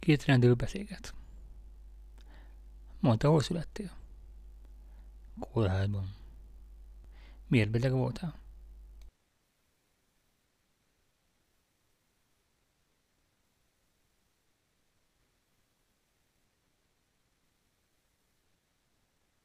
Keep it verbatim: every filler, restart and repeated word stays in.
Két rendőr beszélget. Mondta, hol születtél? Kórházban. Miért beteg voltál?